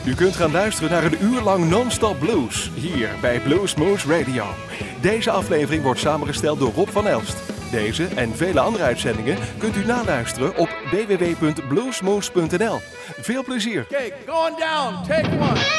U kunt gaan luisteren naar een uur lang non-stop blues, hier bij Bluesmoose Radio. Deze aflevering wordt samengesteld door Rob van Elst. Deze en vele andere uitzendingen kunt u naluisteren op www.bluesmoose.nl. Veel plezier! Okay, going down, take one.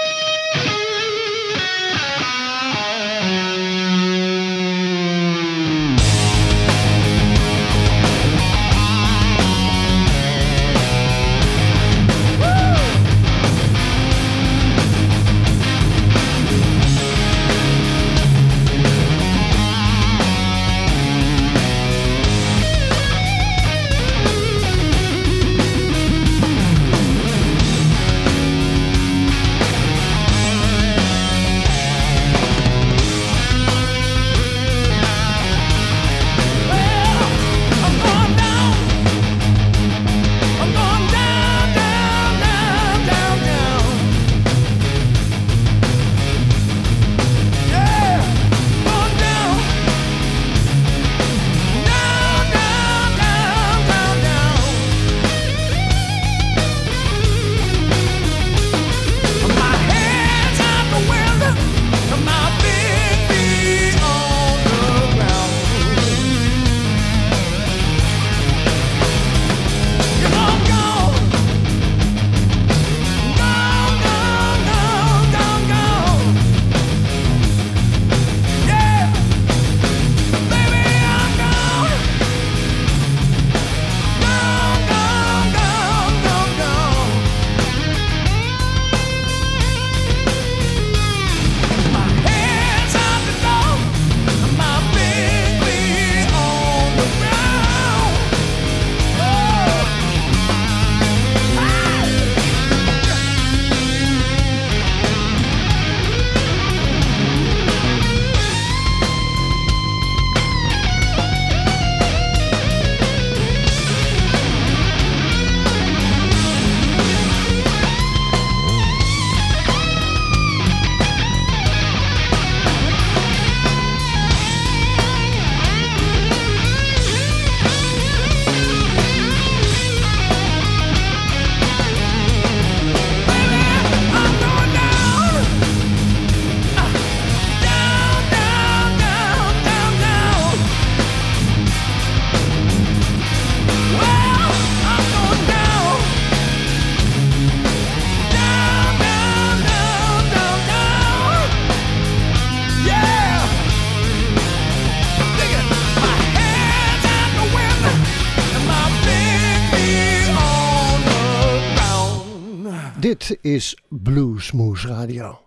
Dit is Bluesmoose Radio.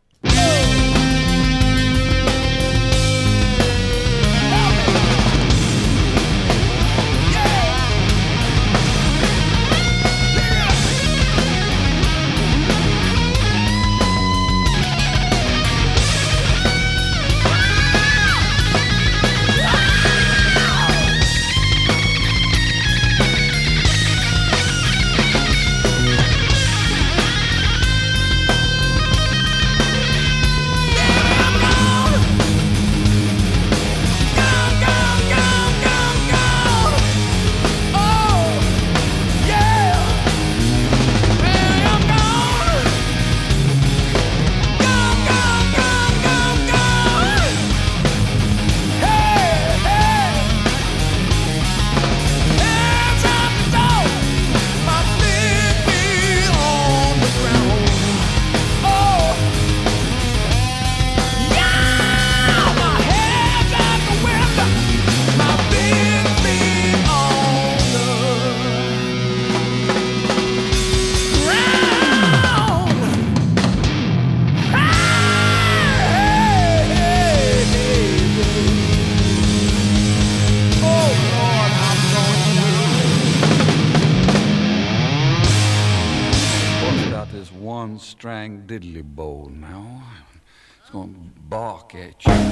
Strang diddly bow now. It's going to bark at you.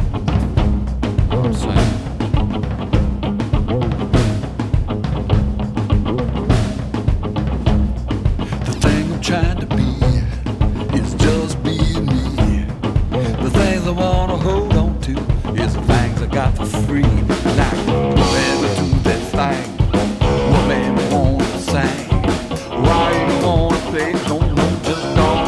The thing I'm trying to be is just being me. The things I want to hold on to is the things I got for free. Like, let me do that thing. What made me want to sing? Why you want to play? Don't know, just don't.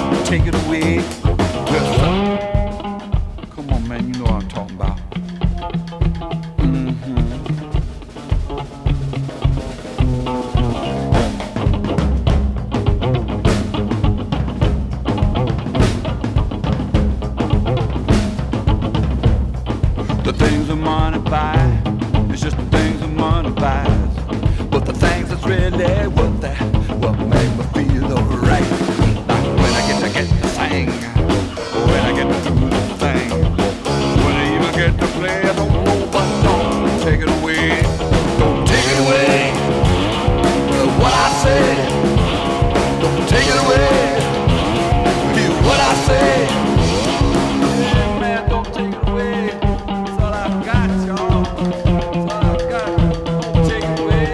lady, what make me feel alright. Like when I get to sing, when I get to do the thing, when I even get to play, I don't know, but don't take it away. Don't take it away. What I say, don't take it away. Hear what I say. Yeah, man, don't take it away. That's all I've got, y'all. That's all I've got. Don't take it away.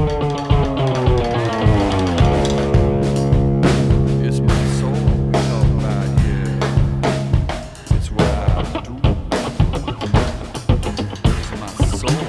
It's my soul we talk about here. It's what I do. It's my soul.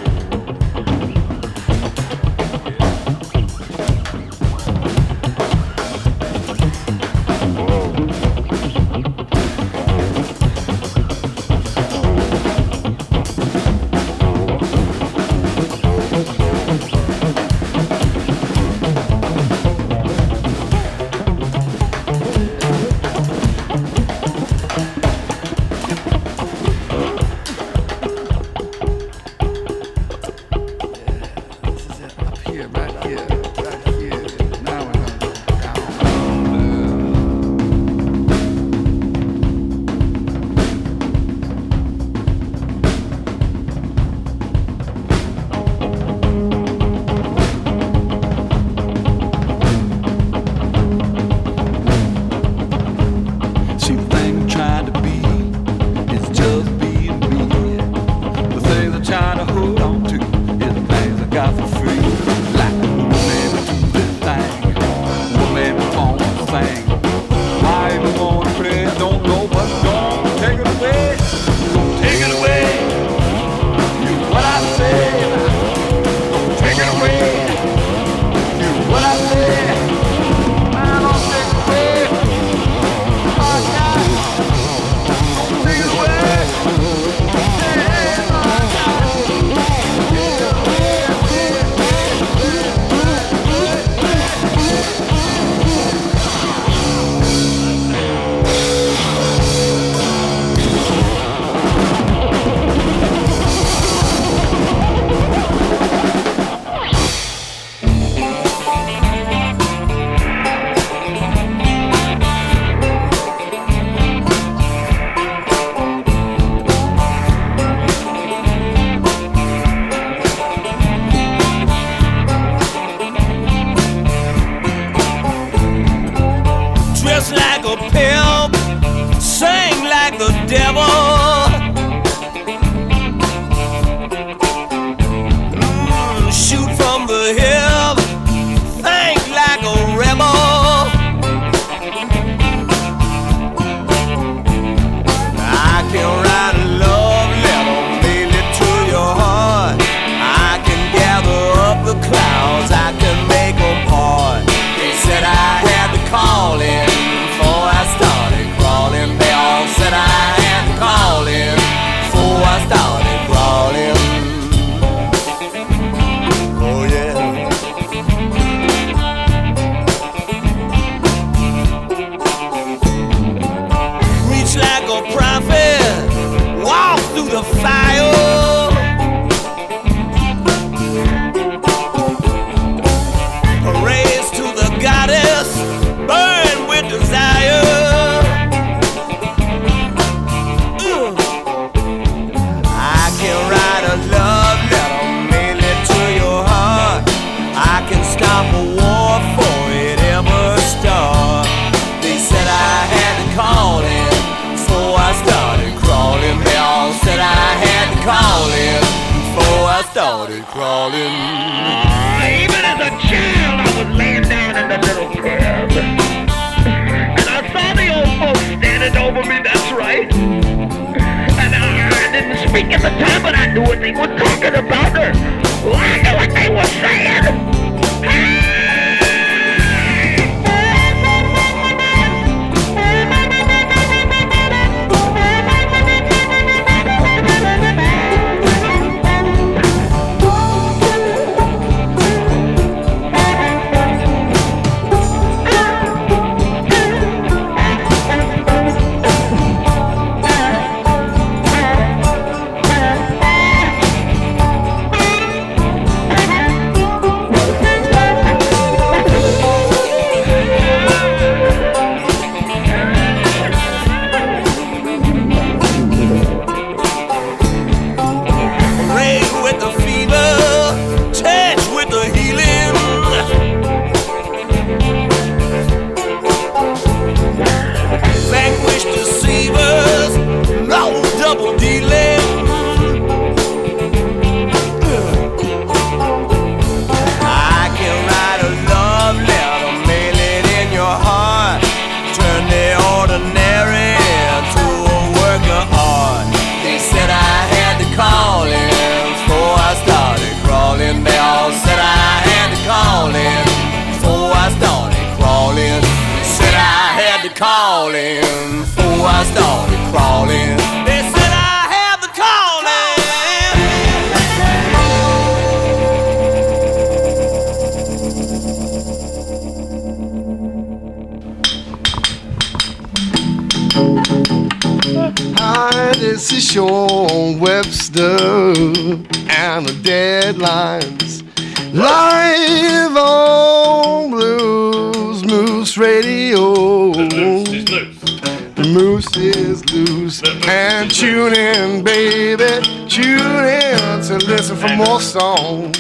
started crawling. Even as a child, I was laying down in the little crib, and I saw the old folks standing over me, that's right. And I didn't speak at the time, but I knew what they were talking about. Well, I knew what they were saying. calling before I started crawling. They said I have the calling. Hi, this is Sean Webster and the Deadlines. Live on Blues Moose Radio. The moose is loose. And tune in, baby. Tune in to listen for more songs.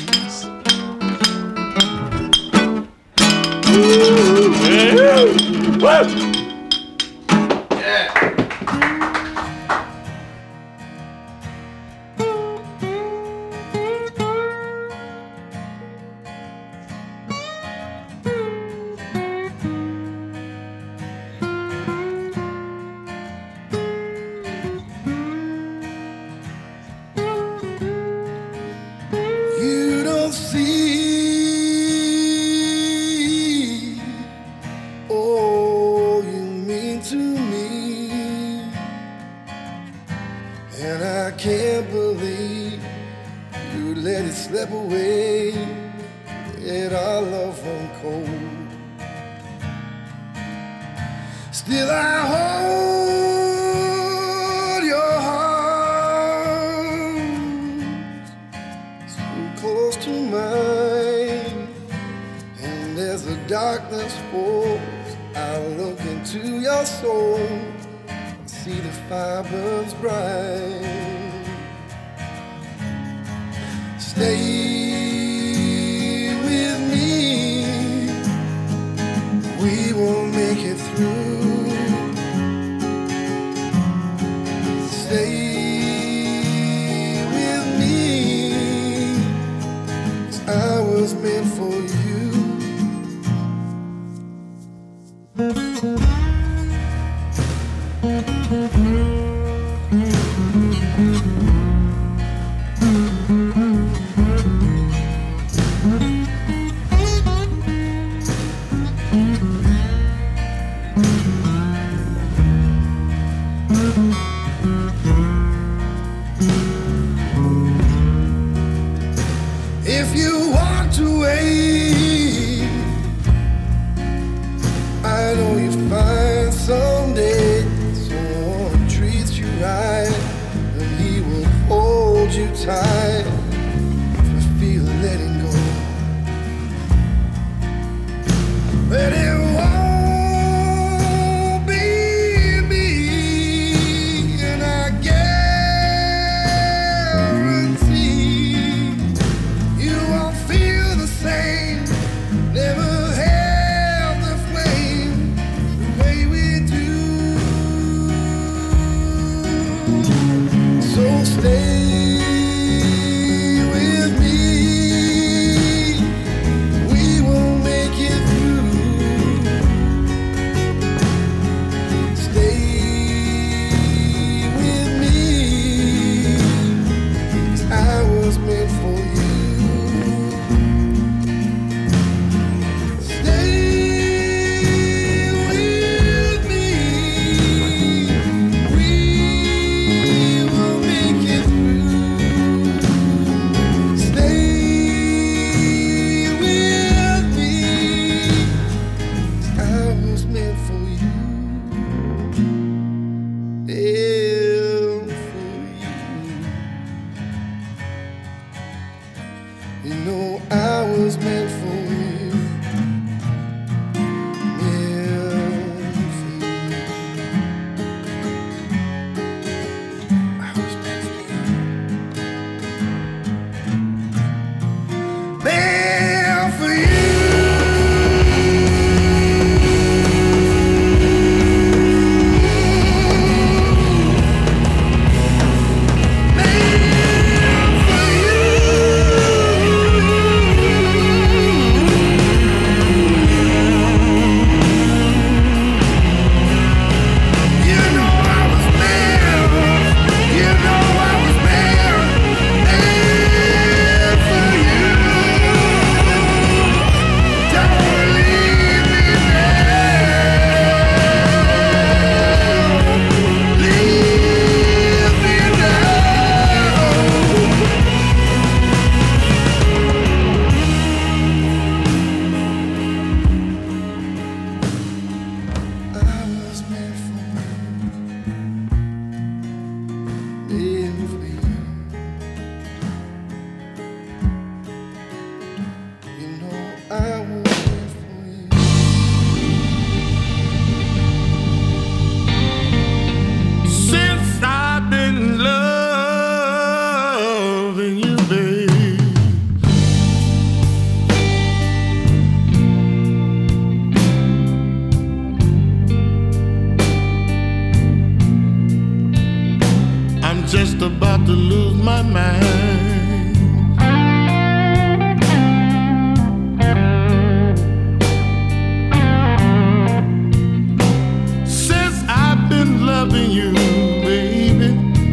about to lose my mind. Since I've been loving you, baby,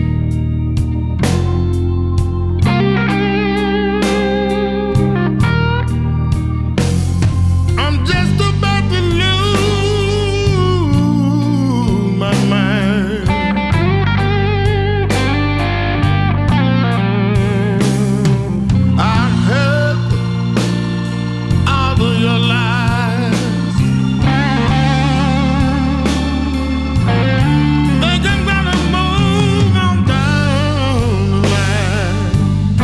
I'm just about to lose my mind. I heard all of your lies. Think I'm gonna move on down the line.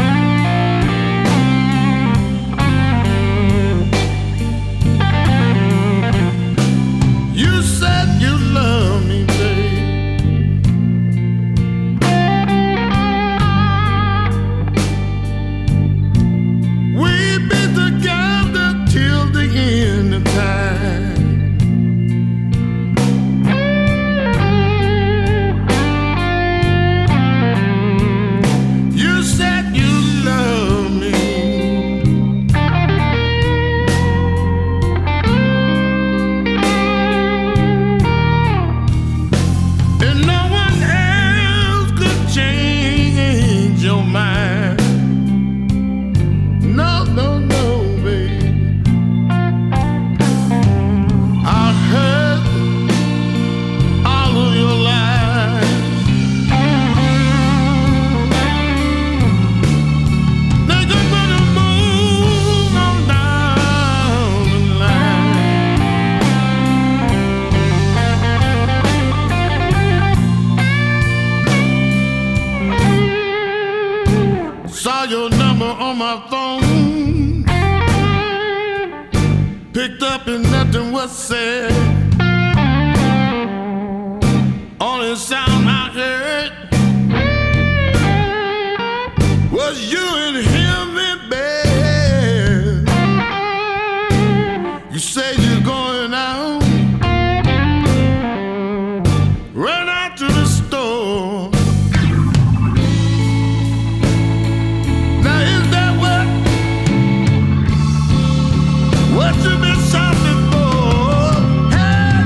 You said you love me, babe. We'll be together till the end of time. You said you love me. And no one else could change your mind. No, no, no, baby. I heard all of your lies. Think I'm gonna move on down the line. Saw your number on my phone. Picked up and nothing was said. Only sound I heard was you and him in bed. You say you're going out. Run out to the store. Now is that what you been shopping for? Hey,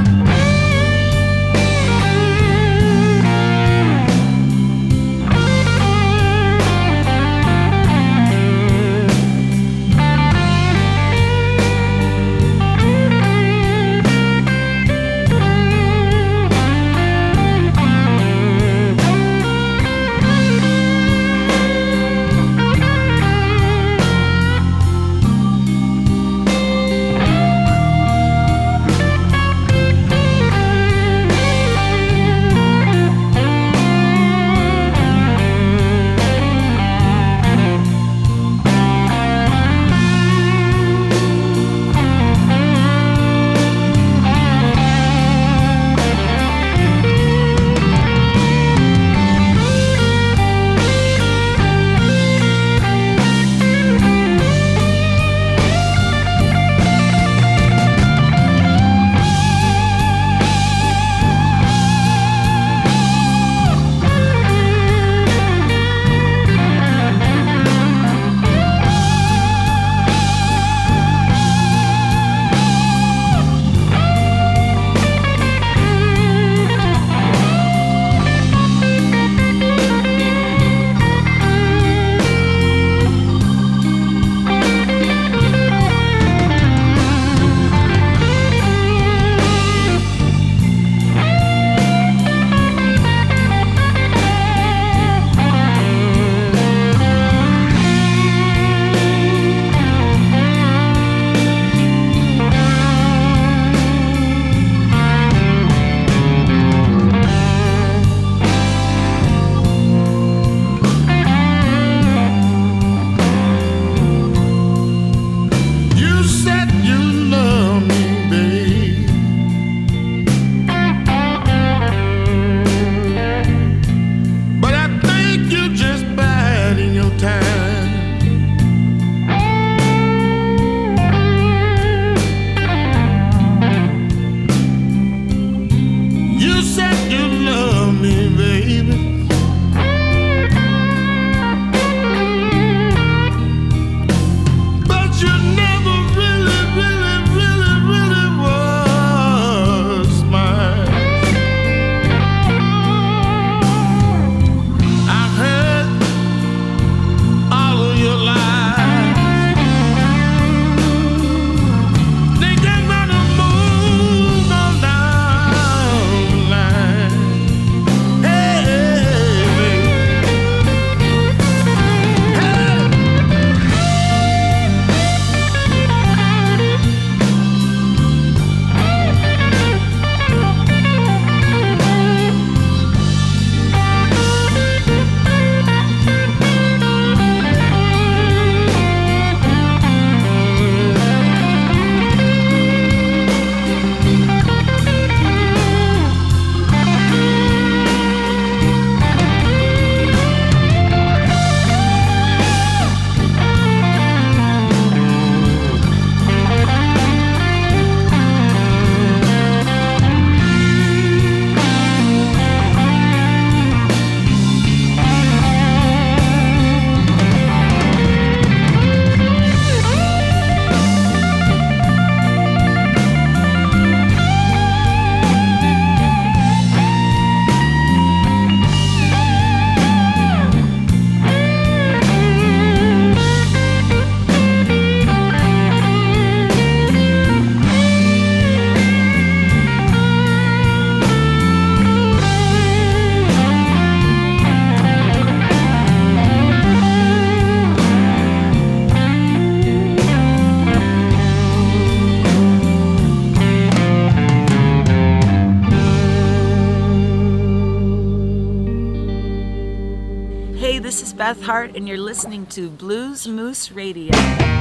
Beth Hart, and you're listening to Blues Moose Radio.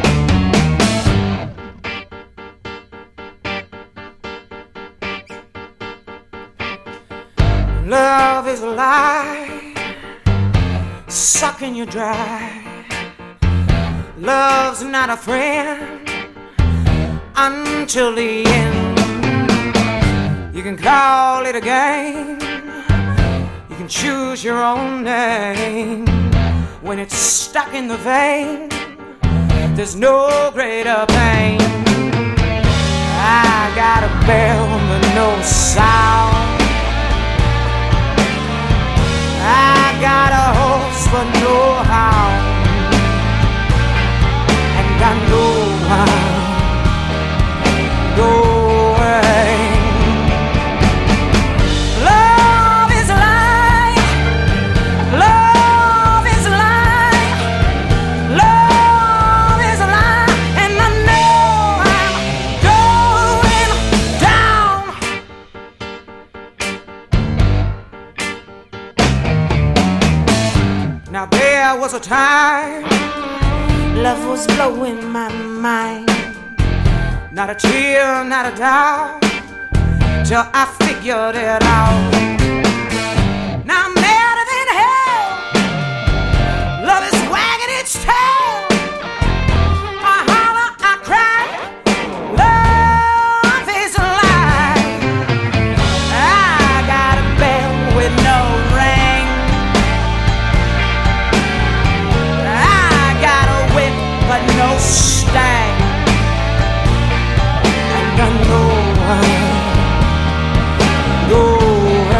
Love is a lie, sucking you dry. Love's not a friend until the end. You can call it a game, you can choose your own name. When it's stuck in the vein, there's no greater pain. I got a bell but no sound, I got a horse but no hound, and I know I'm going. Love is a lie, love is a lie, love is a lie, and I know I'm going down. Now there was a time love was blowing my mind, not a tear, not a doubt, till I figured it out. Now I'm madder than hell, love is wagging its tail. I holler, I cry, love is a lie. I got a bell with no ring, I got a whip but no stang, and I know I'm going.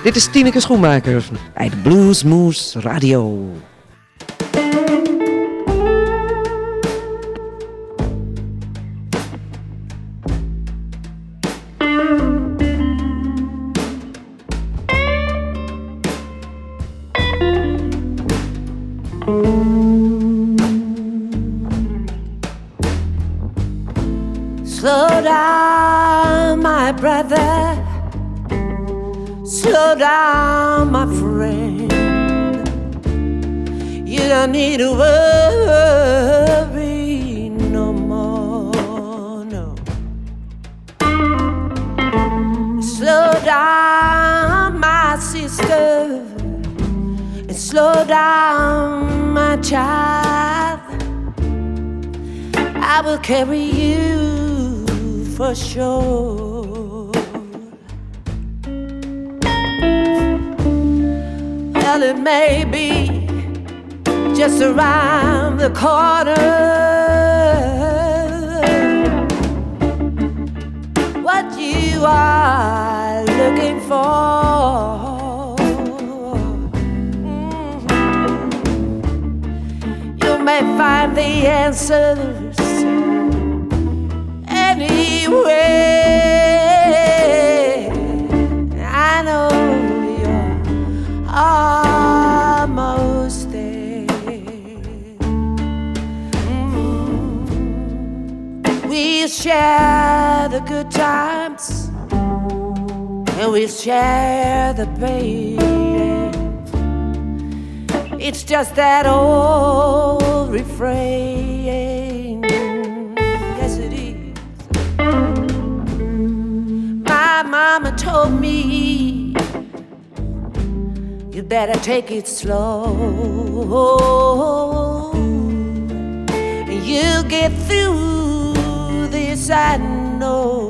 Dit is Tineke Schoenmaker bij de Bluesmoose Radio. Slow down, my brother. Slow down, my friend. You don't need to worry no more, no. Slow down, my sister, and slow down, my child. I will carry you for sure. Well, it may be just around the corner. What you are looking for, you may find the answers anyway. I know you're almost there. We'll share the good times and we'll share the pain. It's just that old refrain. Yes, it is. My mama told me you better take it slow. You'll get through this, I know.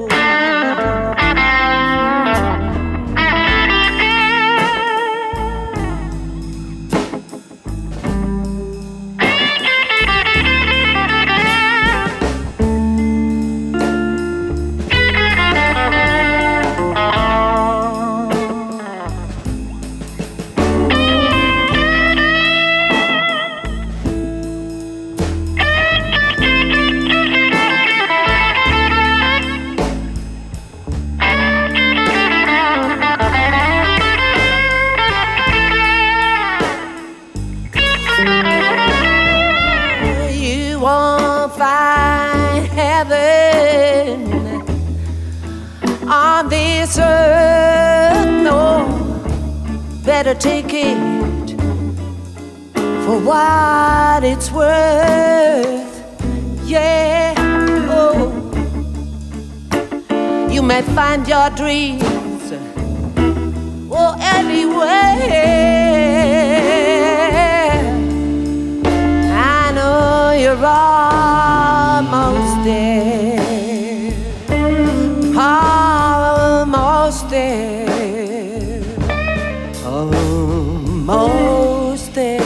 On this earth, no, better take it for what it's worth. Yeah, oh, you may find your dreams, oh, anywhere. I know you're almost there. Almost there, almost there.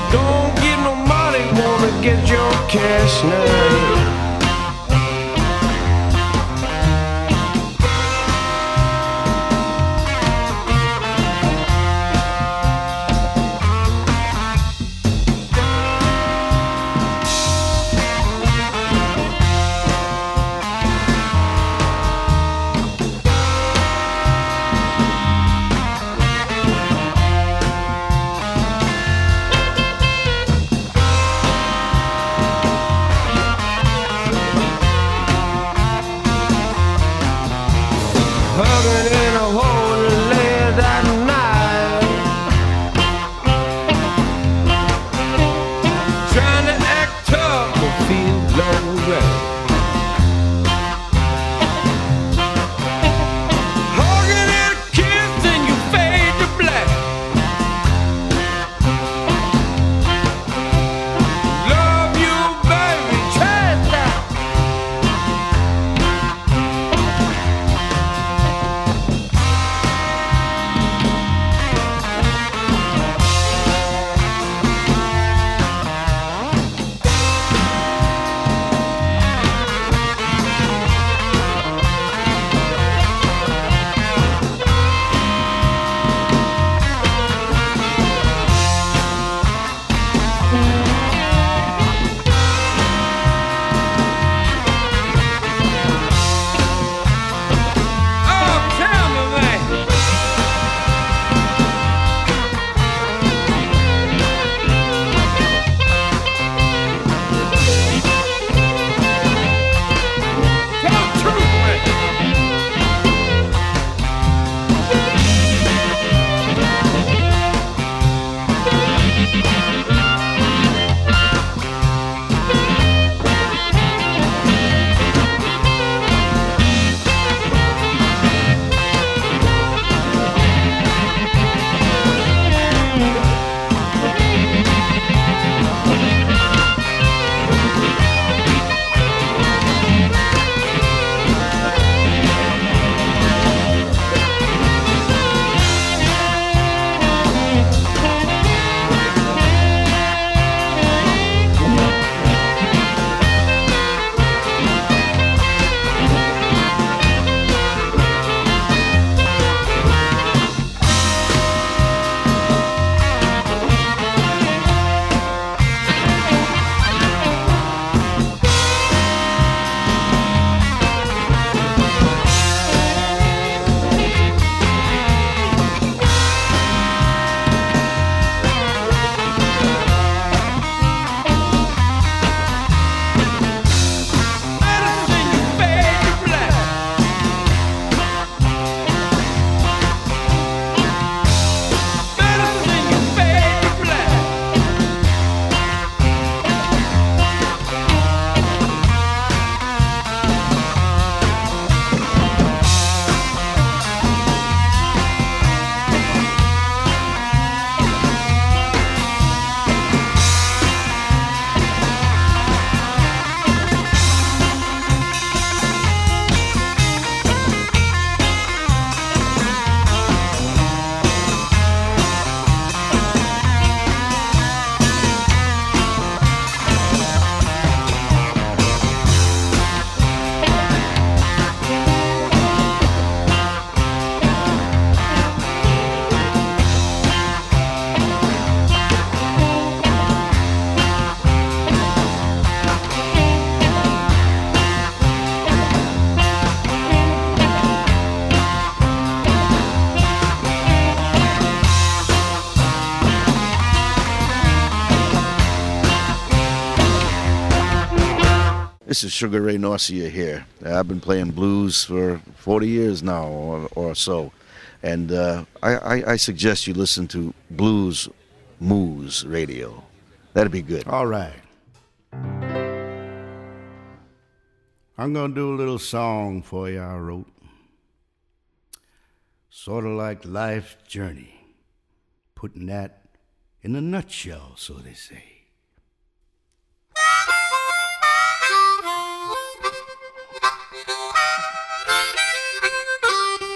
Don't give no money, wanna get your cash now. Hugging in a hole late at night, trying to act tough but feel alright. Hugging and a kiss and you fade to black. Love you, baby, chase that. This is Sugar Ray Norcia here. I've been playing blues for 40 years now or so. And I suggest you listen to Blues Moose Radio. That'd be good. All right. I'm going to do a little song for you I wrote. Sort of like life's journey. Putting that in a nutshell, so they say.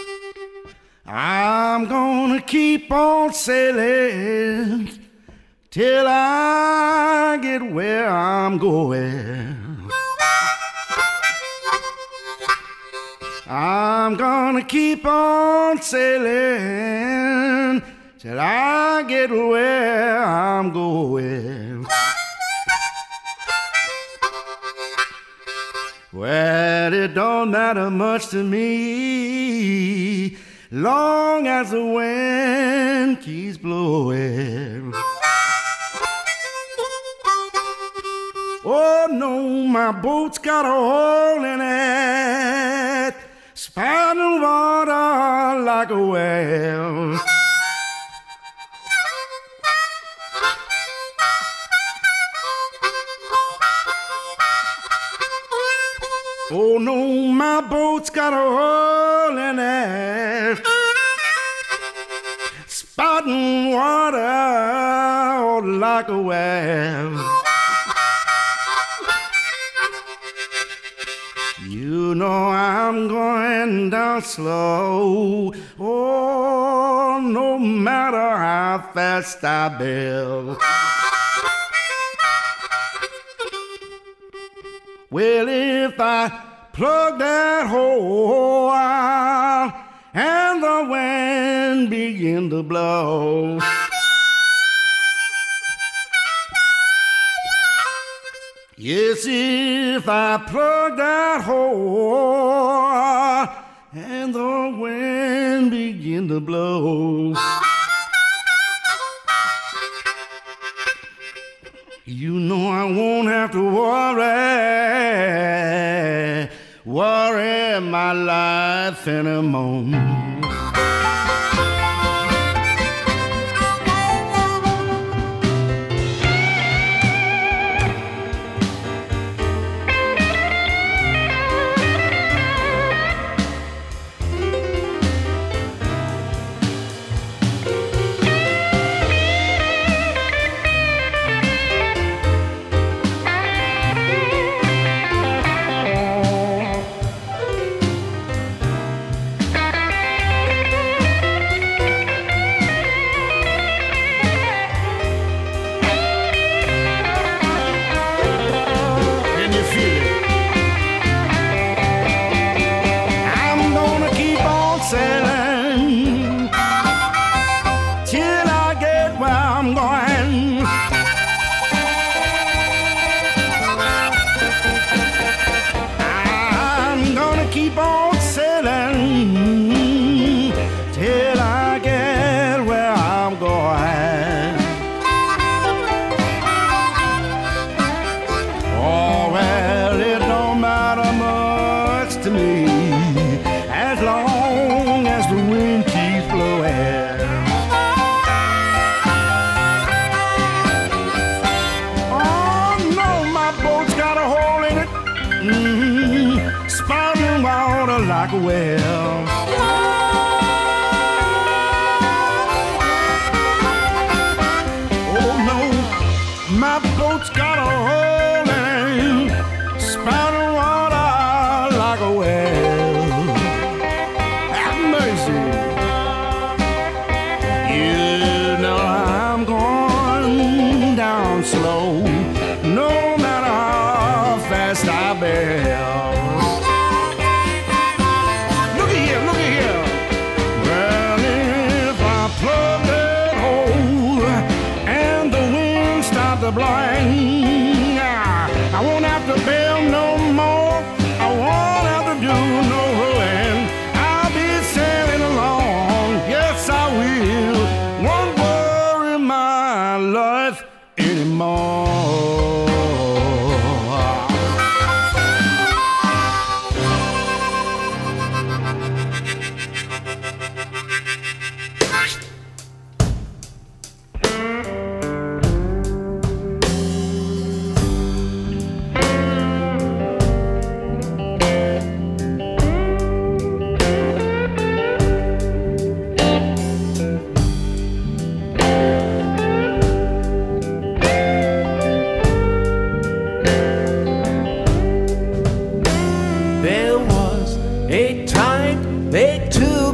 I'm gonna keep on sailing till I get where I'm going. I'm gonna keep on sailing till I get where I'm going. Well, it don't matter much to me, long as the wind keeps blowing. Oh no, my boat's got a hole in it, spouting water like a whale. Oh no, my boat's got a hole in it, spouting water like a whale. You know I'm going down slow, oh, no matter how fast I build. Well, if I plug that hole out and the wind begin to blow, yes, if I plug that hole and the wind begin to blow, you know I won't have to worry my life anymore. Like a whale. Oh no, my boat's got a hole in it, spouting water like a whale. Have mercy. You know I'm going down slow, no matter how fast I bail. Blind. I won't have to bail no more. I won't have to do no rowing. I'll be sailing along. Yes, I will. Won't worry my life anymore.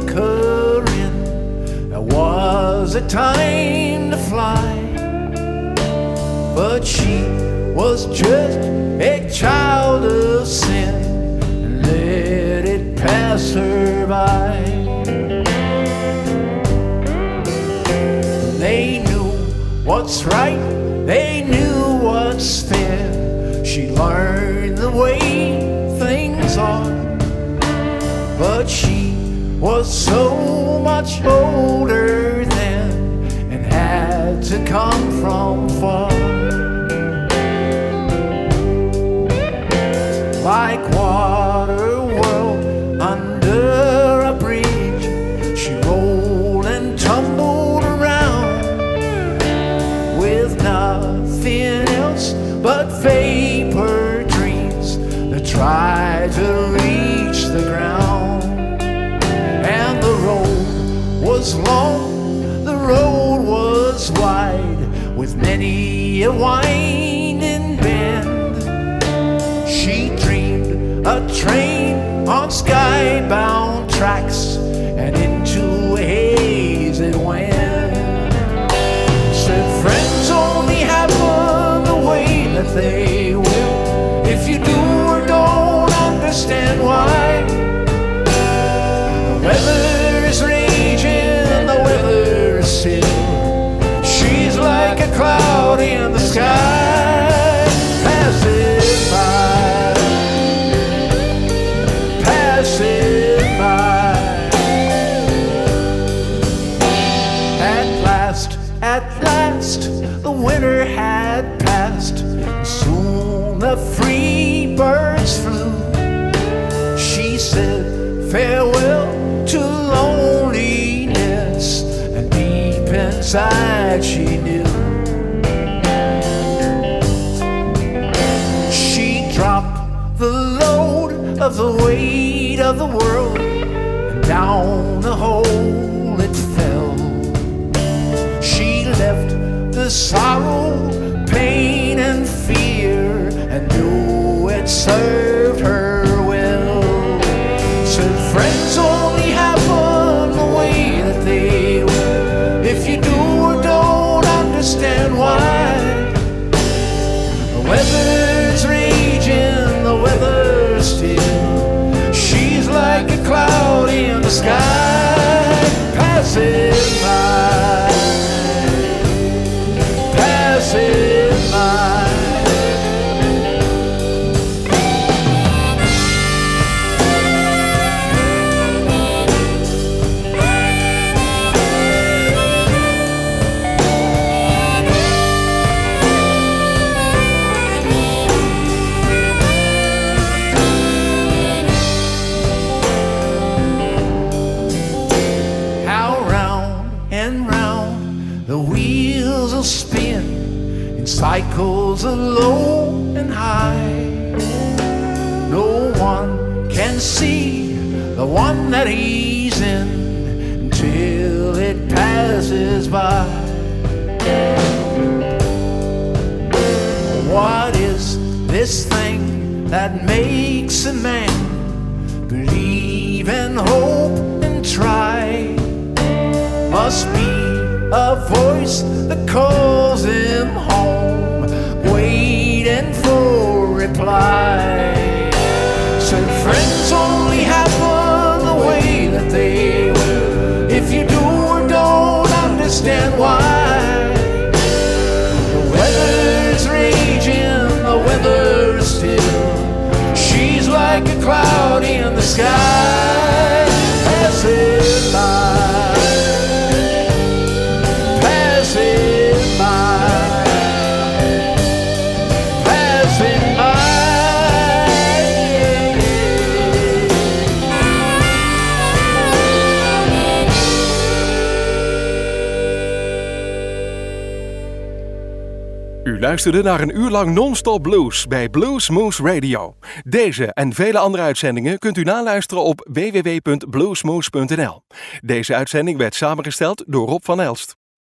Time to fly. but she was just a child of sin and let it pass her by. They knew what's right, they knew what's fair. She learned the way things are, but she was so much older then and had to come from far. Like water whirled under a bridge, she rolled and tumbled around with nothing else but vapor dreams that tried to reach the ground. And the road was long, the road was wide, with many a winding bend. She dreamed a train on skybound tracks, and into a haze it went. Said friends only happen the way that they will, if you do or don't understand why. The weather is raging, the weather is still. She's like a cloud in the sky, passing by, passing by. At last, the winter had passed, and soon the free birds flew. She said farewell to loneliness, and deep inside she knew. She dropped the load of the weight of the world, and down the hole it fell. She left the sorrow, pain and fear, and knew it served her well. Said friends only happen the way that they will, if you do or don't understand why. The weather's raging, the weather's still. She's like a cloud in the sky, passing by, passing by. How round and round the wheels will spin in cycles of low and high. No one can see the one that he's in until it passes by. What is this thing that makes a man believe and hope and try? Must be a voice that calls him home, waiting for reply. Said friends only happen the way that they will, if you do or don't understand why. The weather's raging, the weather's still. She's like a cloud in the sky, passing by, passing by, passing by. U luisterde naar een uur lang non-stop blues bij Blues Moose Radio. Deze en vele andere uitzendingen kunt u naluisteren op www.bluesmoose.nl. Deze uitzending werd samengesteld door Rob van Elst.